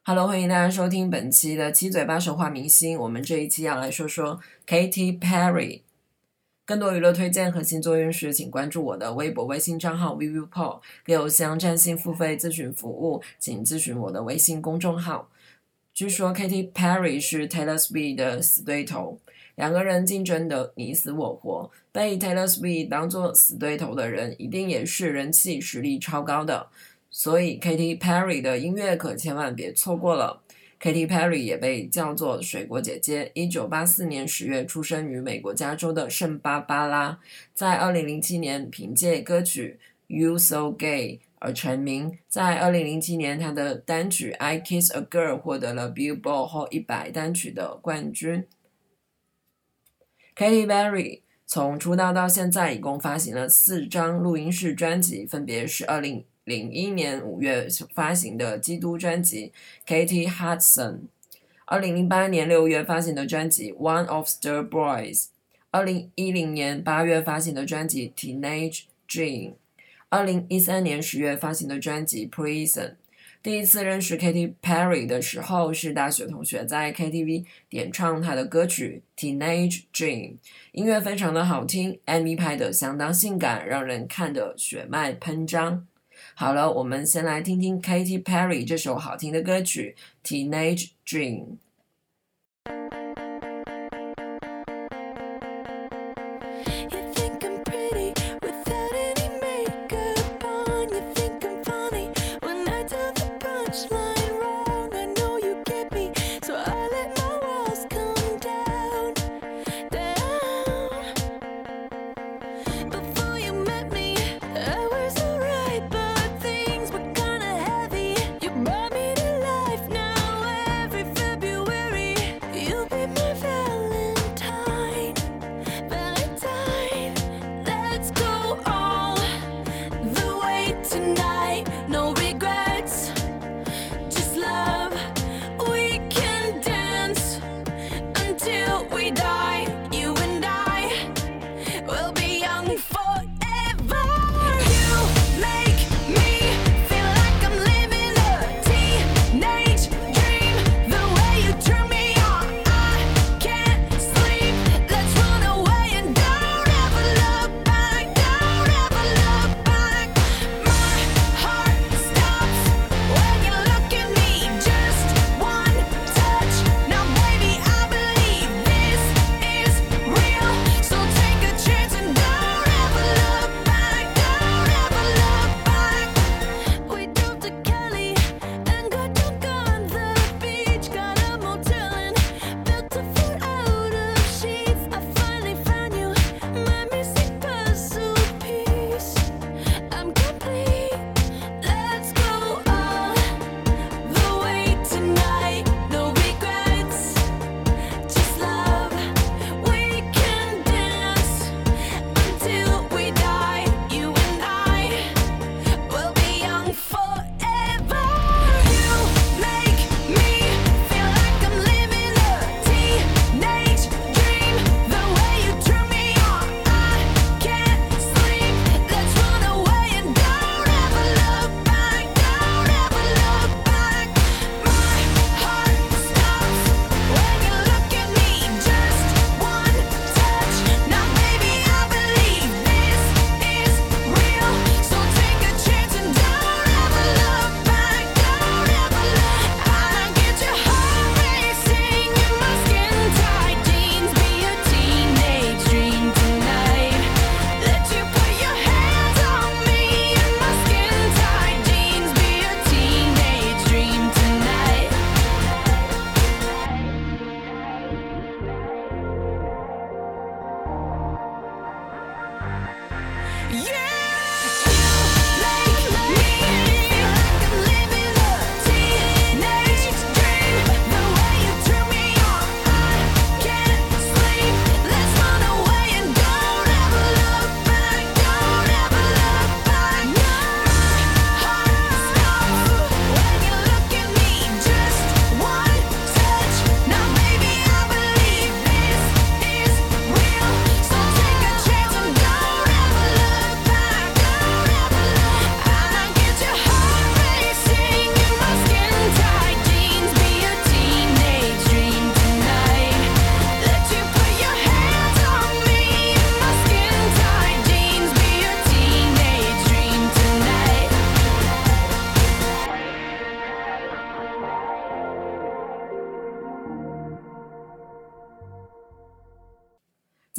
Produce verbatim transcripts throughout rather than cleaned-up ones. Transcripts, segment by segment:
Hello， 欢迎大家收听本期的七嘴八舌话明星。我们这一期要来说说 Katy Perry。更多娱乐推荐和星座运势，请关注我的微博、微信账号 vivipo。给邮箱占星付费咨询服务，请咨询我的微信公众号。据说 Katy Perry 是 Taylor Swift 的死对头，两个人竞争的你死我活。被 Taylor Swift 当作死对头的人，一定也是人气实力超高的。所以 Katy Perry 的音乐可千万别错过了。Katy Perry 也被叫做水果姐姐，一九八四年十月出生于美国加州的圣巴巴拉，在二零零七年凭借歌曲 You So Gay 而成名。在二零零七年，她的单曲 I Kiss a Girl 获得了 Billboard Hot 一百单曲的冠军。Katy Perry 从出道到现在一共发行了四张录音室专辑，分别是二零零一年五月发行的基督专辑 Katy Hudson， 二零零八年六月发行的专辑 One of the Boys， 二零一零年八月发行的专辑 Teenage Dream， 二零一三年十月发行的专辑 Prison。 第一次认识 Katy Perry 的时候是大学同学在 K T V 点唱她的歌曲 Teenage Dream， 音乐非常的好听， M V 拍得相当性感，让人看得血脉喷张。好了，我们先来听听 Katy Perry 这首好听的歌曲 Teenage Dream。 You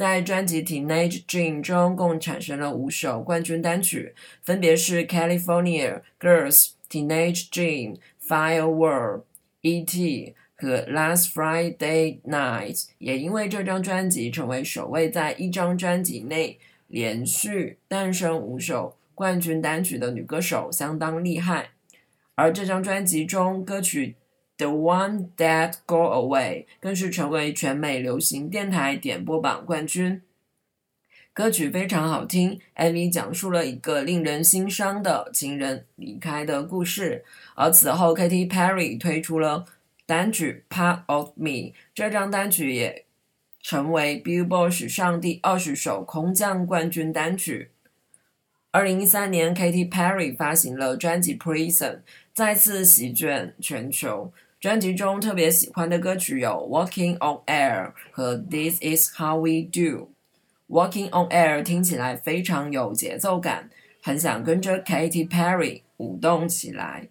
在专辑 Teenage Dream 中共产生了五首冠军单曲，分别是 California Girls、Teenage Dream、Firework、E T 和 Last Friday Night。 也因为这张专辑成为首位在一张专辑内连续诞生五首冠军单曲的女歌手，相当厉害。而这张专辑中歌曲 The One That Go Away 更是成为全美流行电台点播榜冠军。歌曲非常好听， M V 讲述了一个令人心伤的情人离开的故事。而此后 Katy Perry 推出了单曲 Part of Me， 这张单曲也成为 Billboard 史上第二十首空降冠军单曲。二零一三年 Katy Perry 发行了专辑 Prison， 再次席卷全球。专辑中特别喜欢的歌曲有 Walking on Air 和 This is how we do。 Walking on Air 听起来非常有节奏感，很想跟着 Katy Perry 舞动起来。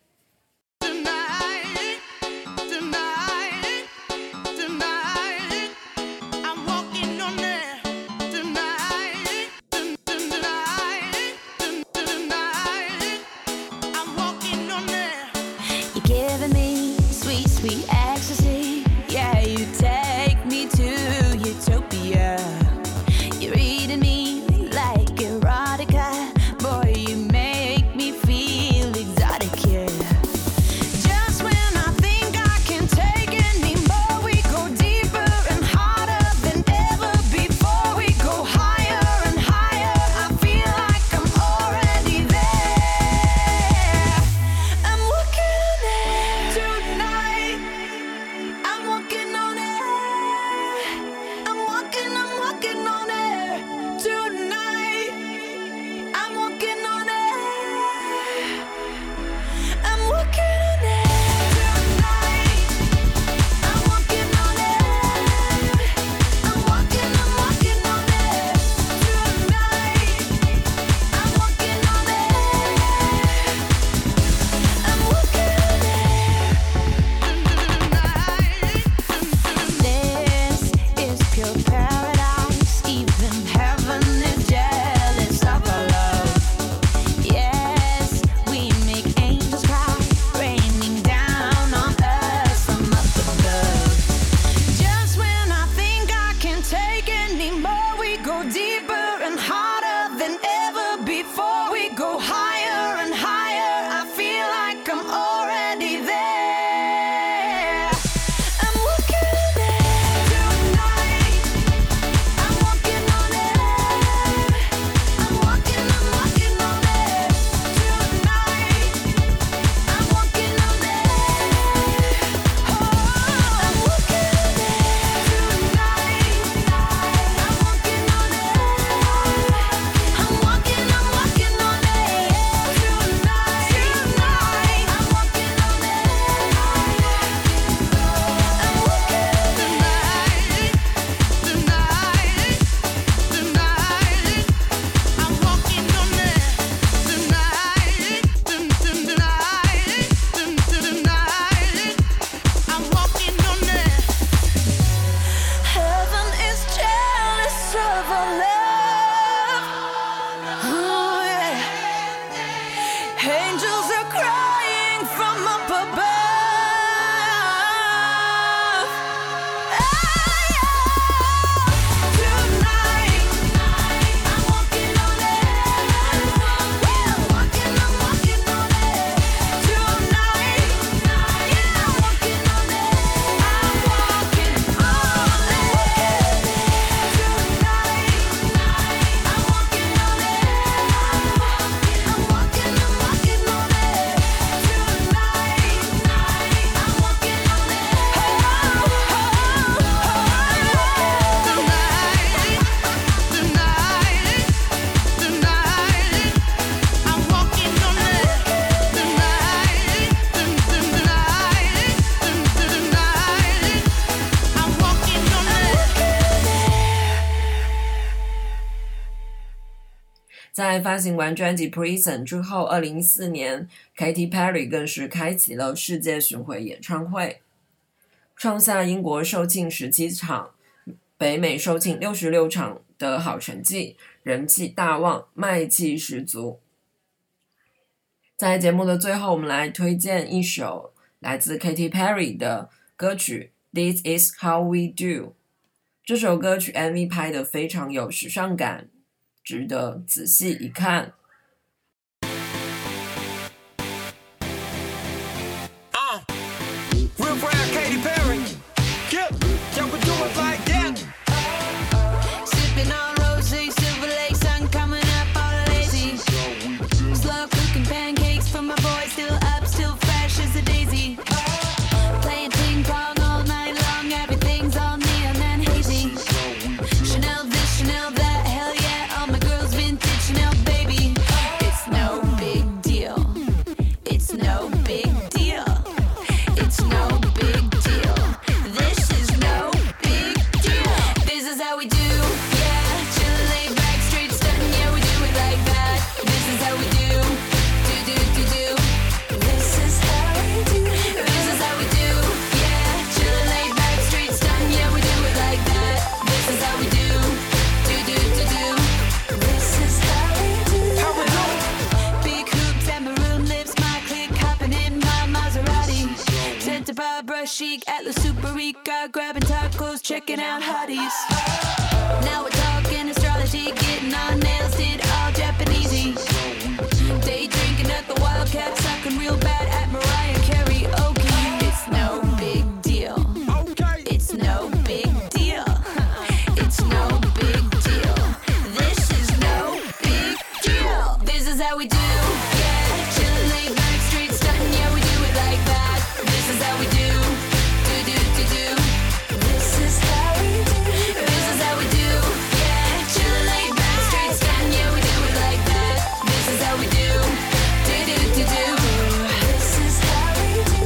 在发行完专辑 Prison 之后，二零一四年 Katy Perry 更是开启了世界巡回演唱会，创下英国售罄十七场， 北美售罄六十六场的好成绩，人气大旺，卖气十足。在节目的最后，我们来推荐一首来自 Katy Perry 的歌曲 This Is How We Do。 这首歌曲 M V 拍得非常有时尚感，值得仔细一看。 Uh, real proud Katy Perry. Yep, y'all can do it like that. Sipping on rosé, Silver Lake sun coming up all lazy. Slow cooking pancakes for my boy, still up, still fresh as a daisy. Playing ping pong all night long, everything's all neon and hazy. Chanel this, Chanel that, hell yeah, all my girls vintage Chanel baby. It's no big deal. It's no big deal. It's no big deal. This is no big deal. This is how we do. Yeah, chillin', laid back, straight stuntin'. Yeah, we do it like that. This is how we do. Do do do do. This is how we do. This is how we do. Yeah, chillin', laid back, straight stuntin'. Yeah, we do it like that. This is how we do. Do do do do. This is how we do. How we do? Big hoops and maroon lips, my clique hopping in my Maserati. Santa Barbara chic, Atlas Super Rica, grabbing tacos, checking out hotties. Now we're talking astrology, getting our nails did all Japanesey. Day drinking at the Wildcat, sucking real bad at Mariah Carey. Okay, it's no big deal. Okay. It's no big deal. It's no big deal. This is no big deal. This is how we do. Yeah, chillin', laid back, straight stuntin'. Yeah, we do it like that. This is how we do. Do do do do. This is how we do. This is how we do. Yeah, chillin', laid back, straight stuntin'. Yeah, we do it like that. This is how we do. Do do do do. This is how we do.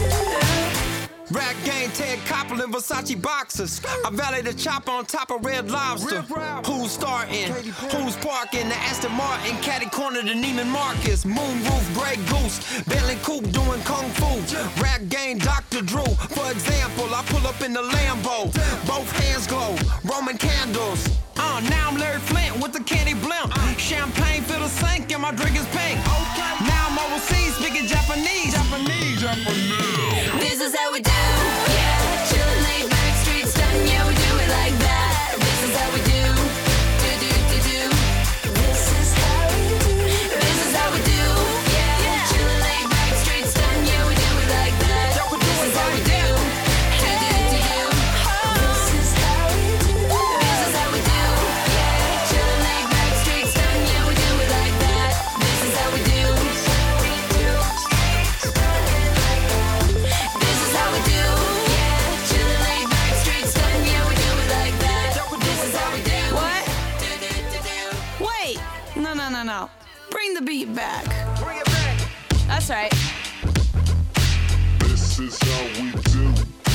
Rap game, Ted Koppel and Versace boxers. I valet the chopper on top of Red Lobster. Who's starting? Who's parking? The Aston Martin, caddy corner to Neiman Marcus. Moonroof, Grey Goose, Bentley Coupe doing kung fu. Rap game, Doctor Drew. For example, I pull up in the Lambo. Both hands glow, Roman candles. Uh, now I'm Larry Flint with the candy blimp. Champagne fill the sink and my drink is pink. Now I'm overseas speaking Japanese. Japanese, Japanese. This is how we do. Yeah, chillin', laid back, straight stuntin'. Yeah, we do it like that. This is how we do. Do do do do. This is how we do. This is how we do. Yeah, chillin', laid back, straight stuntin'. Yeah, we do it like that. This is how we do. Do do do do. This is how we do. This is how we do. Yeah, chillin', laid back, straight stuntin'. Yeah, we do it like that. This is how we do. This is how we do. Yeah, chillin', laid back, straight stuntin'. Yeah, we do it like that. This is how we do. What? Do do do do. Wait. No no no no. Bring the beat back. Bring it back. That's right. This is how we do.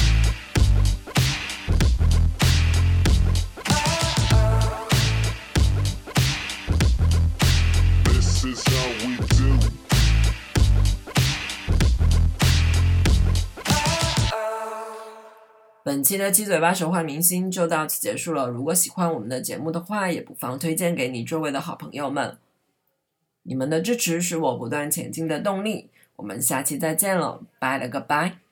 This is how we do. 本期的七嘴八舌换明星就到此结束了。如果喜欢我们的节目的话，也不妨推荐给你周围的好朋友们。你们的支持是我不断前进的动力。我们下期再见了，拜了个拜。